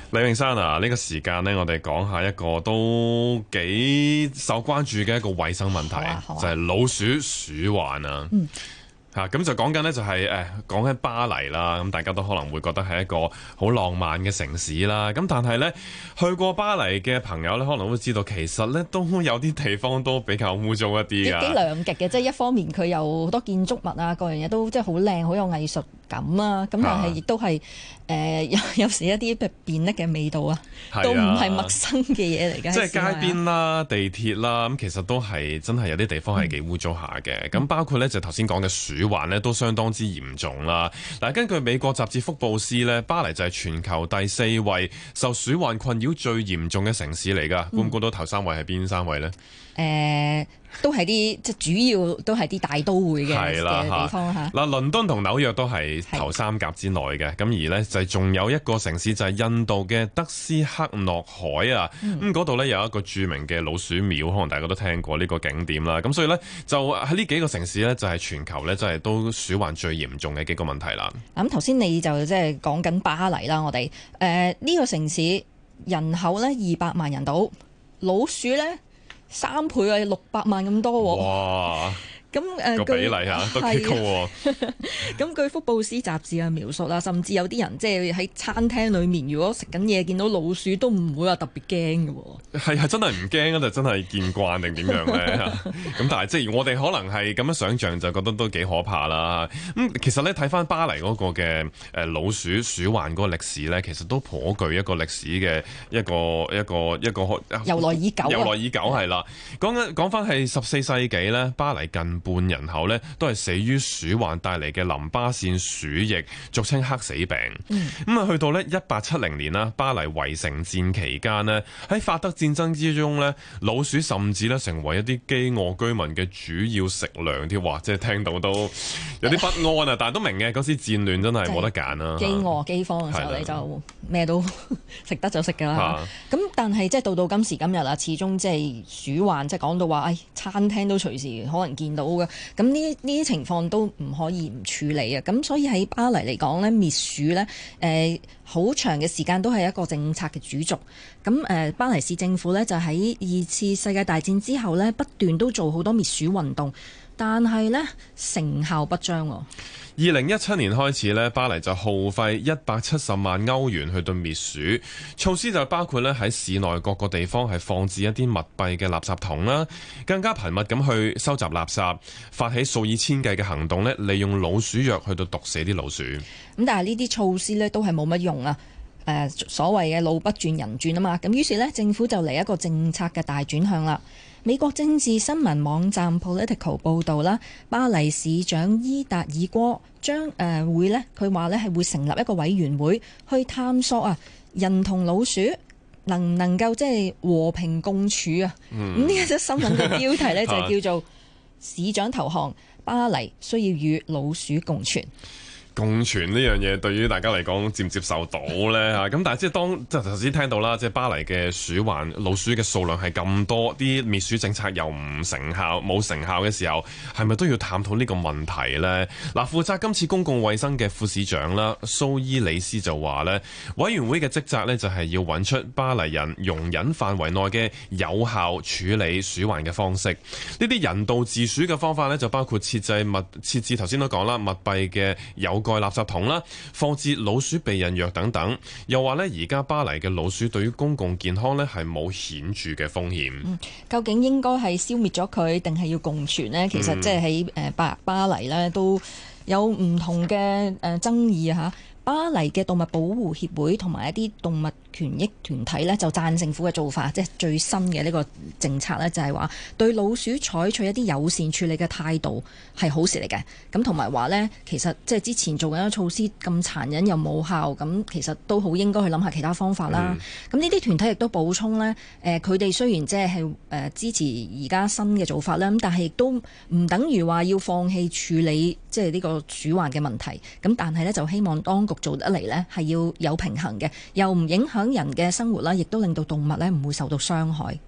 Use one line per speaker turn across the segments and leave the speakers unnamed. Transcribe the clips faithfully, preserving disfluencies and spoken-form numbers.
李永山啊，呢、這個時間呢，我哋講下一個都幾受關注嘅一個衛生問題，啊啊、就係老鼠鼠患啊。嗯嚇咁、啊、就講緊呢，就係誒講緊巴黎啦，咁大家都可能會覺得係一個好浪漫嘅城市啦。咁但係呢，去過巴黎嘅朋友呢，可能會知道其實呢都有啲地方都比較污糟一啲㗎。幾
兩極嘅，即係一方面佢有好多建築物啊，各樣嘢都即係好靚，好有藝術感啊。咁但係亦都係誒有有時一啲便溺嘅味道啊，都唔係陌生嘅嘢嚟嘅。
即係街邊啦、地鐵啦，咁其實都係真係有啲地方係幾污糟下嘅。咁、嗯、包括呢，就頭先講嘅鼠患呢都相當之嚴重啦。嗱，根據美國雜誌福布斯呢，巴黎就係全球第四位受鼠患困擾最嚴重嘅城市嚟㗎。估唔估到頭三位係邊三位呢？
誒、呃，都係啲即係主要都係啲大都會嘅嘅地方嚇。嗱，
倫敦同紐約都係頭三甲之內嘅。咁而呢，就係仲有一個城市就係印度嘅德斯克諾海啊。咁嗰度呢，有一個著名嘅老鼠廟，可能大家都聽過呢個景點啦。咁所以呢，就喺呢幾個城市呢，就係全球呢，真係都鼠患最嚴重嘅幾個問題啦。
咁頭先你就即係講緊巴黎啦，我哋誒呢個城市人口呢，二百萬人到，老鼠呢，三倍啊，六百萬咁多喎。
哇！
咁誒
個比例嚇都幾高喎。
咁據福布斯雜誌嘅描述啦，甚至有啲人即係喺餐廳裏面，如果食緊嘢見到老鼠，都唔會話特別驚嘅喎。
係係真係唔驚啊，就真係見慣定點樣咧？咁但係即係我哋可能係咁樣想像，就覺得都幾可怕啦。咁其實咧睇翻巴黎嗰個嘅誒老鼠鼠患嗰個歷史咧，其實都頗具一個歷史嘅一個一個一個
由來已久啊。
由來已久係啦。講緊講翻係十四世紀咧，巴黎近半人口咧都係死於鼠患帶嚟嘅淋巴腺鼠疫，俗稱黑死病。咁啊、嗯，去到咧一八七零年啦，巴黎圍城戰期間咧，喺法德戰爭之中咧，老鼠甚至咧成為一啲飢餓居民嘅主要食糧添。哇！即係聽到都有啲不安啊，但係都明嘅，嗰時戰亂真係冇得揀啦。
飢餓饑荒嘅時候，你就咩都食得就食㗎啦。咁但係即係到到今時今日啦，始終即係鼠患，即係講到話，誒餐廳都隨時可能見到。咁呢呢啲情況都唔可以唔處理啊！咁所以喺巴黎嚟講咧，滅鼠咧，誒好長嘅時間都係一個政策嘅主軸。咁誒，巴黎市政府咧就喺二次世界大戰之後咧，不斷都做好多滅鼠運動，但係咧成效不彰。
二零一七年開始咧，巴黎就耗費一百七十萬歐元去到滅鼠措施，就包括咧喺市內各個地方係放置一啲密閉嘅垃圾桶啦，更加頻密咁去收集垃圾，發起數以千計嘅行動咧，利用老鼠藥去到毒死啲老鼠。咁
但係呢啲措施咧都係冇乜用啊！誒、呃、所謂嘅路不轉人轉啊嘛，咁於是咧政府就嚟一個政策嘅大轉向啦。美國政治新聞網站 Political 報導啦，巴黎市長伊達爾戈將誒、呃、會咧，佢話咧係會成立一個委員會去探索啊，人同老鼠能唔能夠即係和平共處啊？咁呢一則新聞嘅標題咧就係叫做市長投降，巴黎需要與老鼠共存。
共存呢樣嘢對於大家嚟講接唔接受到呢？嚇？咁但係即係當即係頭先聽到啦，即係巴黎嘅鼠患老鼠嘅數量係咁多，啲滅鼠政策又唔成效冇成效嘅時候，係咪都要探討呢個問題呢？嗱，負責今次公共衛生嘅副市長啦，蘇伊里斯就話呢，委員會嘅職責呢，就係要揾出巴黎人容忍範圍內嘅有效處理鼠患嘅方式。呢啲人道治鼠嘅方法呢，就包括設置密設置頭先都講啦，密閉嘅有蓋垃圾桶啦，放置老鼠避孕藥等等。又話呢，而家巴黎嘅老鼠對於公共健康呢係冇顯著嘅風險。
嗯，究竟應該係消滅咗佢，定係要共存呢？其實即係喺誒巴巴黎呢都有唔同嘅誒爭議嚇。巴黎嘅動物保護協會同埋一啲動物權益團體呢，就贊政府嘅做法，即係最新嘅呢個政策呢，就係話對老鼠採取一啲友善處理嘅態度係好事嚟嘅。咁同埋話呢，其實即係之前做緊嘅措施咁殘忍又冇效，咁其實都好應該去諗下其他方法啦。咁呢啲團體亦都補充呢，誒佢哋雖然即係誒支持而家新嘅做法啦，咁但係亦都唔等於話要放棄處理即係呢個鼠患嘅問題。咁但係呢，就希望當局做得嚟呢係要有平衡嘅，又唔影響人嘅生活啦，亦都令到動物呢唔會受到傷害。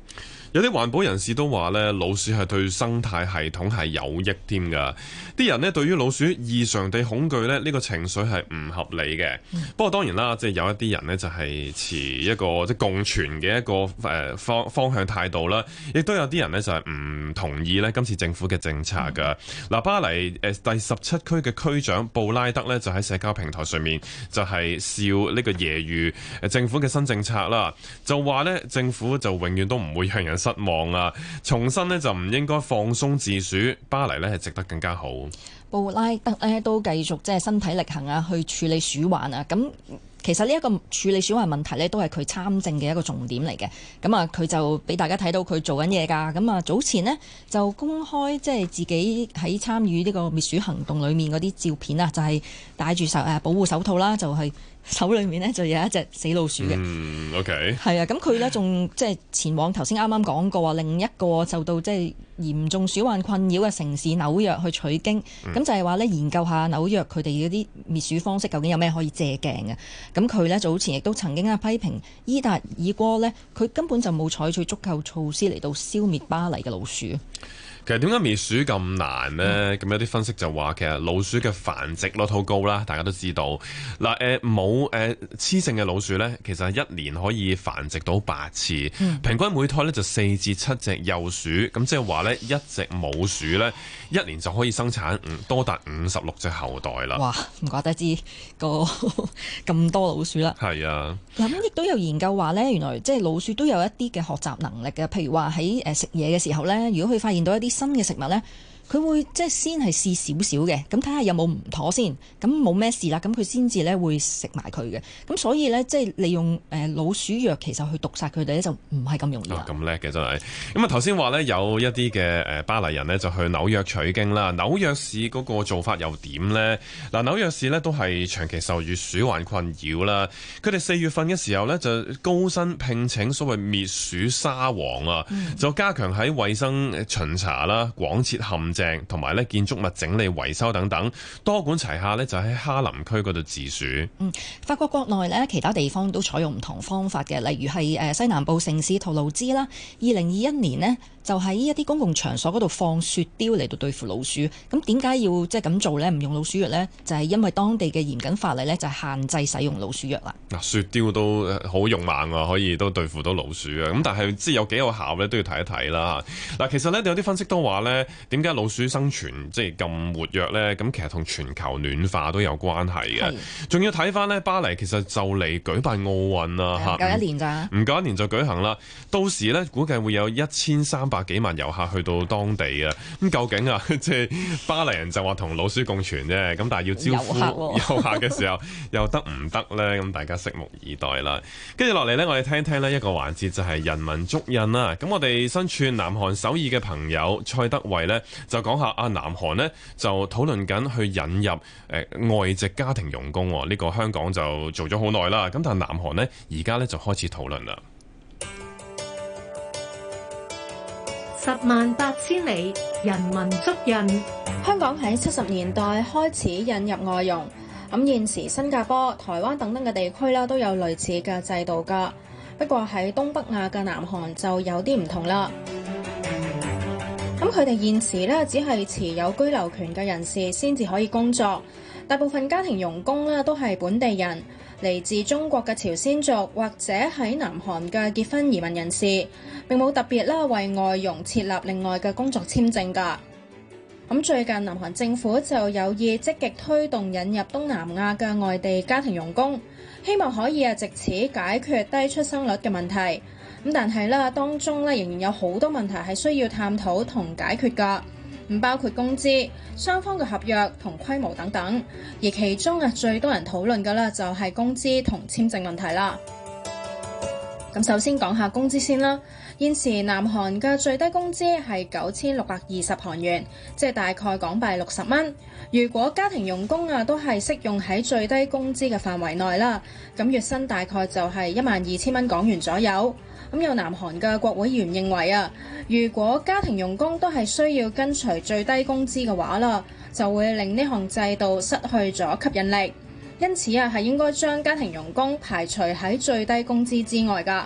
有啲環保人士都話咧，老鼠係對生態系統係有益添㗎。啲人呢對於老鼠異常地恐懼咧，呢個情緒係唔合理嘅。嗯、不過當然啦，即係有一啲人呢就係持一個即係共存嘅一個誒方方向態度啦。亦都有啲人呢就係唔同意咧今次政府嘅政策㗎。嗱、嗯，巴黎誒第十七區嘅區長布拉德呢就喺社交平台上面就係笑呢個揶揄誒政府嘅新政策啦，就話呢政府就永遠都唔會讓人失望啊！重新呢就唔應該放鬆自主，巴黎呢係值得更加好。
布拉德呢都繼續即係身體力行啊，去處理鼠患啊。咁其實呢一個處理鼠患問題呢，都係佢參政嘅一個重點嚟嘅。咁啊，佢就俾大家睇到佢做緊嘢㗎。咁啊，早前呢，就公開即係自己喺參與呢個滅鼠行動裡面嗰啲照片啊，就係戴住手誒保護手套啦，就係、是。手裏面呢就有一隻死老鼠嘅。
嗯 ，OK。係
啊，咁佢呢仲即係前往頭先啱啱講過另一個受到即係嚴重鼠患困擾嘅城市紐約去取經，咁、嗯、就係話呢研究下紐約佢哋嗰啲滅鼠方式究竟有咩可以借鏡嘅。咁佢呢早前亦都曾經啊批評伊達爾戈呢，佢根本就冇採取足夠措施嚟到消滅巴黎嘅老鼠。
其實點解滅鼠咁難呢？咁、嗯、有啲分析就話，其實老鼠嘅繁殖率好高啦，大家都知道。嗱，誒冇誒雌性嘅老鼠呢，其實係一年可以繁殖到八次，嗯、平均每胎呢就四至七隻幼鼠。咁即係話呢，一隻母鼠呢，一年就可以生產多達五十六隻後代啦。哇！
唔怪得知個咁多老鼠啦。
係啊。
嗱，咁亦都有研究話呢，原來即係老鼠都有一啲嘅學習能力嘅。譬如話喺誒食嘢嘅時候呢，如果佢發現到一啲新嘅食物呢，佢會即係先係試少少嘅，咁睇下有冇唔妥先，咁冇咩事啦，咁佢先至咧會食埋佢嘅。咁所以咧，即係利用誒老鼠藥其實去毒殺佢哋咧，就唔係咁容易。
咁叻嘅真係。咁啊頭先話咧有一啲嘅誒巴黎人呢，就去紐約取經啦。紐約市嗰個做法又點呢？嗱，紐約市呢都係長期受住鼠患困擾啦。佢哋四月份嘅時候呢，就高薪聘請所謂滅鼠沙皇啊，嗯、就加強喺衛生巡查啦、廣設陷阱同埋咧建築物整理維修等等，多管齊下咧就喺哈林區嗰度治鼠。
嗯，法國國內咧其他地方都採用唔同方法嘅，例如係誒西南部城市圖盧茲啦，二零二一年呢，就喺一啲公共場所嗰度放雪雕嚟到對付老鼠。咁點解要即係咁做呢？唔用老鼠藥呢？就係、是、因為當地嘅嚴謹法例呢，就係限制使用老鼠藥啦。
嗱，雪雕都好勇猛啊，可以都對付到老鼠啊。咁但係即係有幾有效呢？都要睇一睇啦。嗱，其實呢，有啲分析都話呢，點解老鼠生存即係咁活躍呢？咁其實同全球暖化都有關係嘅。仲要睇翻呢，巴黎其實就嚟舉辦奧運啦，嚇，唔
夠一年咋？
唔夠一年就舉行啦。到時呢，估計會有一千三百幾萬遊客去到當地啊。咁究竟啊，即係巴黎人就話同老鼠共存啫。咁但係要招呼遊客嘅時候，又得唔得呢？咁大家拭目以待啦。跟住落嚟呢，我哋聽聽呢一個環節就係人文足印啦。咁我哋身處南韓首爾嘅朋友蔡德惠呢，就講下啊，南韓呢就討論緊去引入誒、呃、外籍家庭傭工，呢、這個香港就做咗好耐啦。咁但係南韓呢，而家呢就開始討論啦。
十萬八千里，人文足印。
香港喺七十年代開始引入外傭，咁現時新加坡、台灣等等嘅地區啦都有類似嘅制度㗎。不過喺東北亞嘅南韓就有啲唔同啦。咁佢哋現時咧只係持有居留權嘅人士先至可以工作，大部分家庭傭工咧都係本地人，嚟自中國嘅朝鮮族或者喺南韓嘅結婚移民人士，並冇特別啦為外傭設立另外嘅工作簽證㗎。咁最近南韓政府就有意積極推動引入東南亞嘅外地家庭傭工，希望可以啊藉此解決低出生率嘅問題。咁但係啦，當中咧仍然有好多問題係需要探討同解決㗎，唔包括工資、雙方嘅合約同規模等等。而其中啊最多人討論嘅啦就係工資同簽證問題啦。咁首先講下工資先啦。現時南韓嘅最低工資係九千六百二十韓元，即係大概港幣六十蚊。如果家庭傭工啊都係適用喺最低工資嘅範圍內啦，咁月薪大概就係一萬二千蚊港元左右。咁有南韓嘅國會議員認為啊，如果家庭傭工都係需要跟隨最低工資嘅話啦，就會令呢項制度失去咗吸引力。因此啊，係應該將家庭傭工排除喺最低工資之外㗎。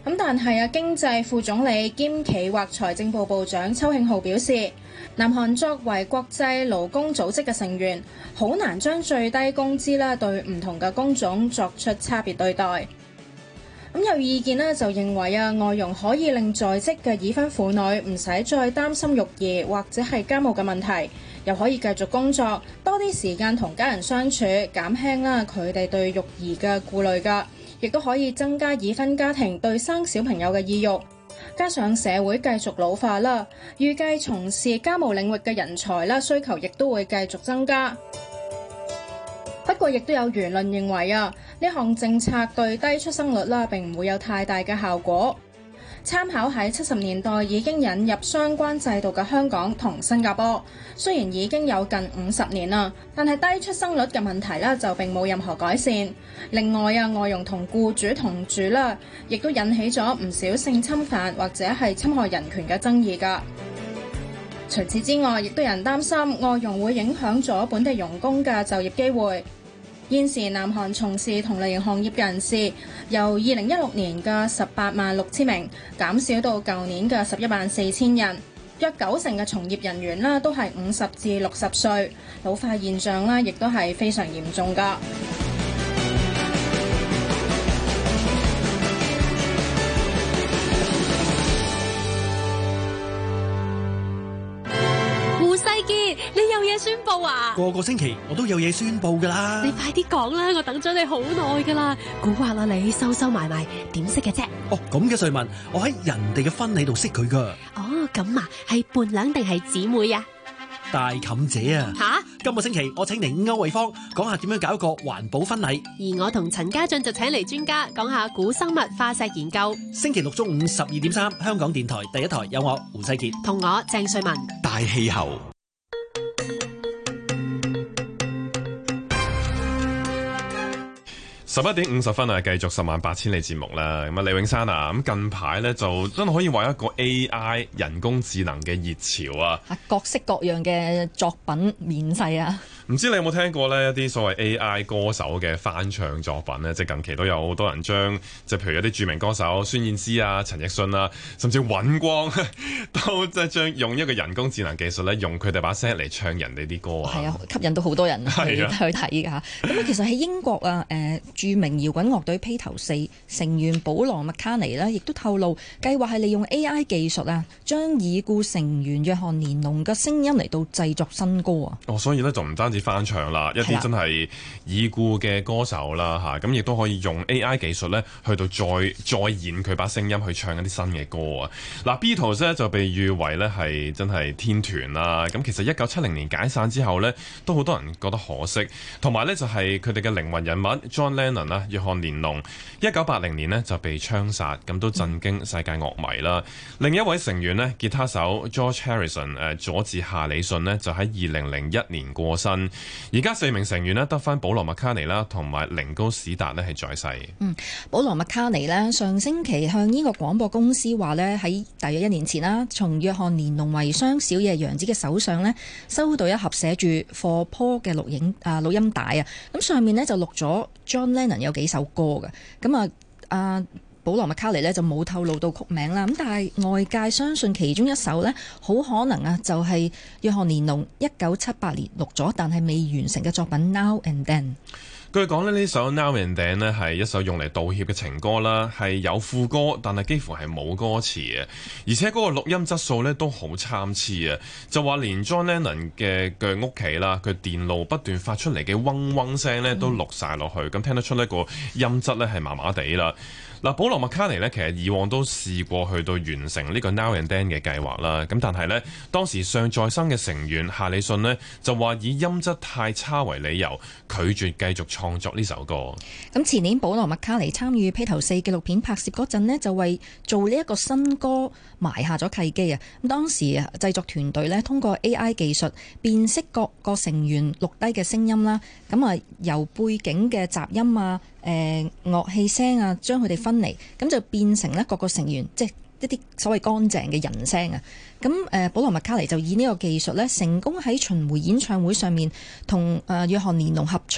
咁但係啊，經濟副總理兼企劃財政部部長邱慶浩表示，南韓作為國際勞工組織嘅成員，好難將最低工資啦對唔同嘅工種作出差別對待。咁有意見呢就認為啊，外傭可以令在職嘅已婚婦女唔使再擔心育兒或者係家務嘅問題，又可以繼續工作，多啲時間同家人相處，減輕啦佢哋對育兒嘅顧慮㗎。亦都可以增加已婚家庭對生小朋友嘅意欲，加上社會繼續老化啦，預計從事家務領域嘅人才啦需求亦都會繼續增加。不過，亦都有輿論認為啊，呢項政策對低出生率啦並唔會有太大嘅效果。參考喺七十年代已經引入相關制度嘅香港同新加坡，雖然已經有近五十年啦，但係低出生率嘅問題咧就並冇任何改善。另外啊，外傭同僱主同住啦，亦都引起咗唔少性侵犯或者係侵害人權嘅爭議㗎。除此之外，亦都有人擔心外傭會影響咗本地傭工嘅就業機會。現時南韓從事同類型行業嘅人士由二零一六年嘅十八萬六千名減少到舊年嘅十一萬四千人，約九成嘅從業人員啦都係五十至六十歲，老化現象啦亦都係非常嚴重㗎。
你有嘢宣布啊？
個個星期我都有嘢宣布噶啦。
你快啲講啦，我等咗你好耐噶啦。蠱惑啦你，收收埋埋，點識嘅啫？
哦，咁嘅瑞文，我喺人哋嘅婚禮度識佢噶。
哦，咁啊，係伴娘定係姊妹啊？
大妗姐啊！
吓？
今個星期我請嚟歐惠芳講下點樣搞一個環保婚禮，
而我同陳家俊就請嚟專家講下古生物化石研究。
星期六中午十二點三，香港電台第一台有我胡世傑
同我鄭瑞文。
大氣候。
十一點五十分啊，繼續十萬八千里節目啦。咁啊，李永山啊，咁近排咧就真係可以話一個 A I 人工智能嘅熱潮啊！
各式各樣嘅作品面世啊！
唔知你有冇聽過呢一啲所謂 A I 歌手嘅翻唱作品呢？即係近期都有好多人將，即係譬如一啲著名歌手孫燕姿啊、陳奕迅啊，甚至尹光都即係將用一個人工智能技術咧，用佢哋把聲嚟唱人哋啲歌啊！係
啊，吸引到好多人去去睇㗎嚇。咁啊，其實喺英國啊，誒著名搖滾樂隊披頭四成員保羅麥卡尼呢，亦都透露計劃係利用 A I 技術啊，將已故成員約翰連儂嘅聲音嚟到製作新歌啊！
哦，所以呢，就唔單止翻唱啦，一啲真係已故嘅歌手啦嚇，咁亦都可以用 A I 技術咧，去到再再現佢把聲音去唱一啲新嘅歌啊！嗱，Beatles 咧就被譽為咧係真係天團啦。咁其實一九七零年解散之後咧，都好多人覺得可惜，同埋咧就係佢哋嘅靈魂人物 John Lennon 啦，約翰連儂，一九八零年呢就被槍殺，咁都震驚世界樂迷啦。嗯、另一位成員呢，吉他手 George Harrison 誒佐治夏里遜呢，就喺二零零一年過身。而家四名成員呢，得返保羅麥卡尼啦，同埋凌高史達呢係在世。
嗯，保羅麥卡尼呢，上星期向呢個廣播公司話呢，喺大約一年前啦，從約翰連儂遺孀小野洋子嘅手上呢，收到一盒寫住 For Paul 嘅錄影啊錄音帶啊，咁上面呢，就錄咗 John Lennon 有幾首歌嘅，咁啊啊。保羅麥卡尼呢就冇透露到曲名啦，咁但係外界相信其中一首呢，好可能啊就係約翰連儂一九七八年錄咗但係未完成嘅作品 Now and Then。
據講呢，呢首 Now and Then 呢係一首用嚟道歉嘅情歌啦，係有副歌，但係幾乎係冇歌詞嘅，而且嗰個錄音質素呢都好參差啊！就話連 John Lennon 嘅嘅屋企啦，佢電路不斷發出嚟嘅嗡嗡聲呢都錄晒落去，咁、嗯、聽得出呢個音質呢係麻麻地啦。嗱，保羅麥卡尼呢，其實以往都試過去到完成呢個 Now and Then 嘅計劃啦。咁但係呢，當時尚在生嘅成員夏里遜呢，就話以音質太差為理由，拒絕繼續創作呢首歌。
咁前年保羅麥卡尼參與披頭四紀錄片拍攝嗰陣呢，就為做呢一個新歌埋下咗契機啊！咁當時啊，製作團隊呢，通過 A I 技術辨識各個成員錄低嘅聲音啦，咁啊由背景嘅雜音啊、誒、呃、樂器聲啊，將佢哋分離，咁就變成咧各個成員即係一啲所謂乾淨嘅人聲啊。咁誒、呃，保羅麥卡尼就以呢個技術咧，成功喺巡迴演唱會上面同誒約翰連儂合唱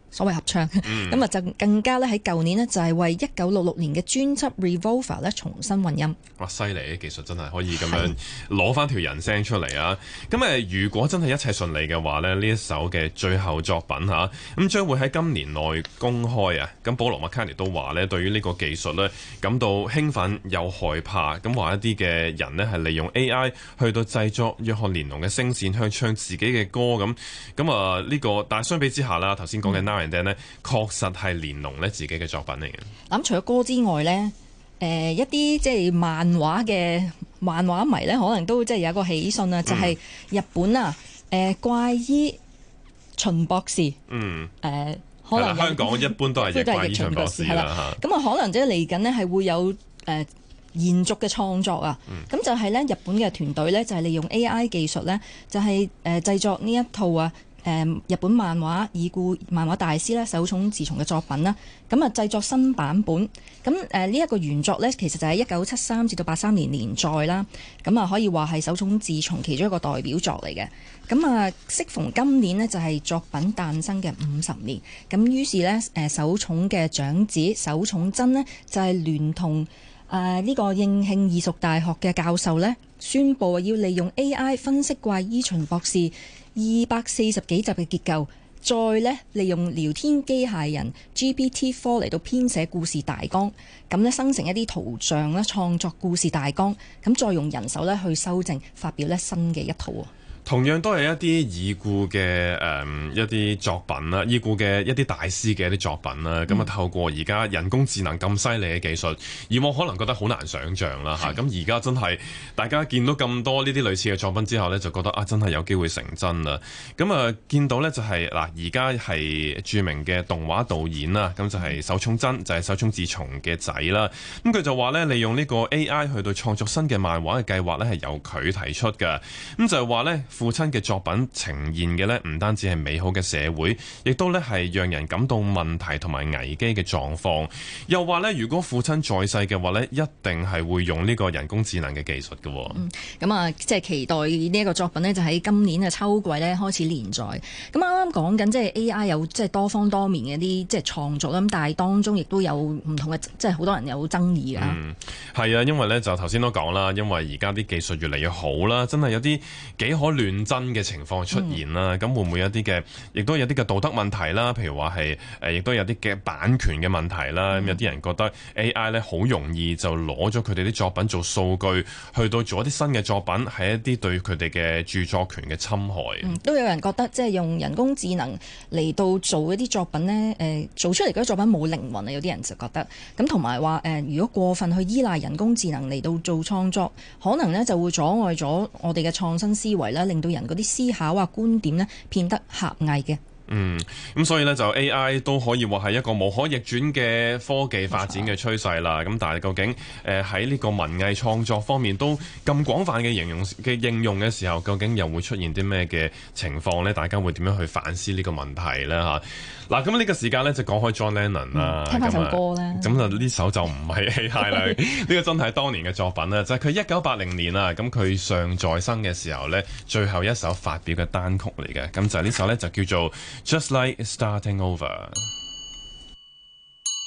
所謂合唱，咁啊就更加咧喺舊年呢，就係為一九六六年嘅專輯 Revolver 咧重新混音。
哇！犀利嘅技術真係可以咁樣攞翻條人聲出嚟啊！咁誒，如果真係一切順利嘅話咧，呢一首嘅最後作品嚇，咁將會喺今年內公開啊！咁保羅麥卡尼都話咧，對於呢個技術咧感到興奮又害怕，咁話一啲嘅人呢，係利用 A I 去到製作約翰連儂嘅聲線，去唱自己嘅歌咁。咁啊呢個，但係相比之下啦，頭先講嘅 Now and Then 咧，確實係連儂咧自己嘅作品嚟嘅。
咁除咗歌之外咧，誒、呃、一啲即係漫畫嘅漫畫迷咧，可能都即係有一個喜訊啊，就係、是、日本啊，誒、呃、怪醫秦博士，嗯，誒、呃、可能
香港一般都係怪醫秦博士啦嚇。
咁啊，可能即係嚟緊呢係會有誒、呃、延續嘅創作啊。咁、嗯、就係咧日本嘅團隊咧，就係利用 A I 技術咧，就係誒製作呢一套啊。誒日本漫畫已故漫畫大師咧手塚治虫嘅作品啦，咁啊製作新版本，咁誒呢一個原作咧其實就喺一九七三至到八三年連載啦，咁啊可以話係手塚治虫其中一個代表作嚟嘅，咁啊適逢今年呢，就係作品誕生嘅五十年，咁於是咧誒手塚嘅長子手塚真呢，就係聯同誒呢個應慶義塾大學嘅教授咧宣佈要利用 A I 分析怪醫秦博士二百四十幾集嘅結構，再咧利用聊天機械人 G P T 四 嚟到編寫故事大綱，咁咧生成一啲圖像咧創作故事大綱，咁再用人手咧去修正，發表咧新嘅一套啊。
同樣都係一啲已故嘅誒、嗯、一啲作品啦，已故嘅一啲大師嘅一啲作品啦，咁啊、嗯、透過而家人工智能咁犀利嘅技術，以往可能覺得好難想像啦嚇，咁而家真係大家見到咁多呢啲類似嘅作品之後呢，就覺得啊真係有機會成真啦。咁啊見到呢就係、是、嗱，而家係著名嘅動畫導演啦，咁就係手塚真，就係、是、手塚治虫嘅仔啦。咁佢就話呢，利用呢個 A I 去到創作新嘅漫畫嘅計劃呢，係由佢提出嘅。咁就係話呢。父親嘅作品呈現嘅呢，唔單止係美好嘅社會，亦都呢係讓人感到問題同埋危機嘅狀況。又話呢，如果父親在世嘅話呢，一定係會用呢個人工智能嘅技術嘅。
嗯，咁啊，即係期待呢一個作品呢，就喺今年嘅秋季呢開始連載。咁啱啱講緊即係 A I 有即係多方多面嘅啲即係創作啦，咁但係當中亦都有唔同嘅，即係好多人有爭議㗎。
嗯，係啊，因為呢就頭先都講啦，因為而家啲技術越嚟越好啦，真係有啲幾可亂真嘅情況出現啦，咁、嗯、會唔會有啲嘅，亦都有啲嘅道德問題啦？譬如話係誒，亦都有啲嘅版權嘅問題啦。咁、嗯、有啲人覺得 A I 咧好容易就攞咗佢哋啲作品做數據，去到做一啲新嘅作品，係一啲對佢哋嘅著作權嘅侵害。
嗯、都有人覺得即係用人工智能嚟到做一啲作品呢，誒、呃、做出嚟嗰啲作品冇靈魂啊！有啲人就覺得咁，同埋話誒，如果過分去依賴人工智能嚟到做創作，可能呢就會阻礙咗我哋嘅創新思維啦，令到人嗰啲思考啊觀點呢變得狹隘嘅。
嗯，咁所以呢，就 A I 都可以話係一個無可逆轉嘅科技發展嘅趨勢啦。咁但係究竟誒喺呢個文藝創作方面都咁廣泛嘅形容嘅應用嘅時候，究竟又會出現啲咩嘅情況呢？大家會點樣去反思呢個問題呢？嚇嗱，咁呢個時間呢，就講開 John Lennon 啦、嗯，
聽翻首歌啦。
咁就呢首就唔係 A I 啦，呢個真係當年嘅作品啦，就係佢一九八零年啊，咁佢尚在生嘅時候呢，最後一首發表嘅單曲嚟嘅，咁就係呢首呢，就叫做Just Like Starting Over。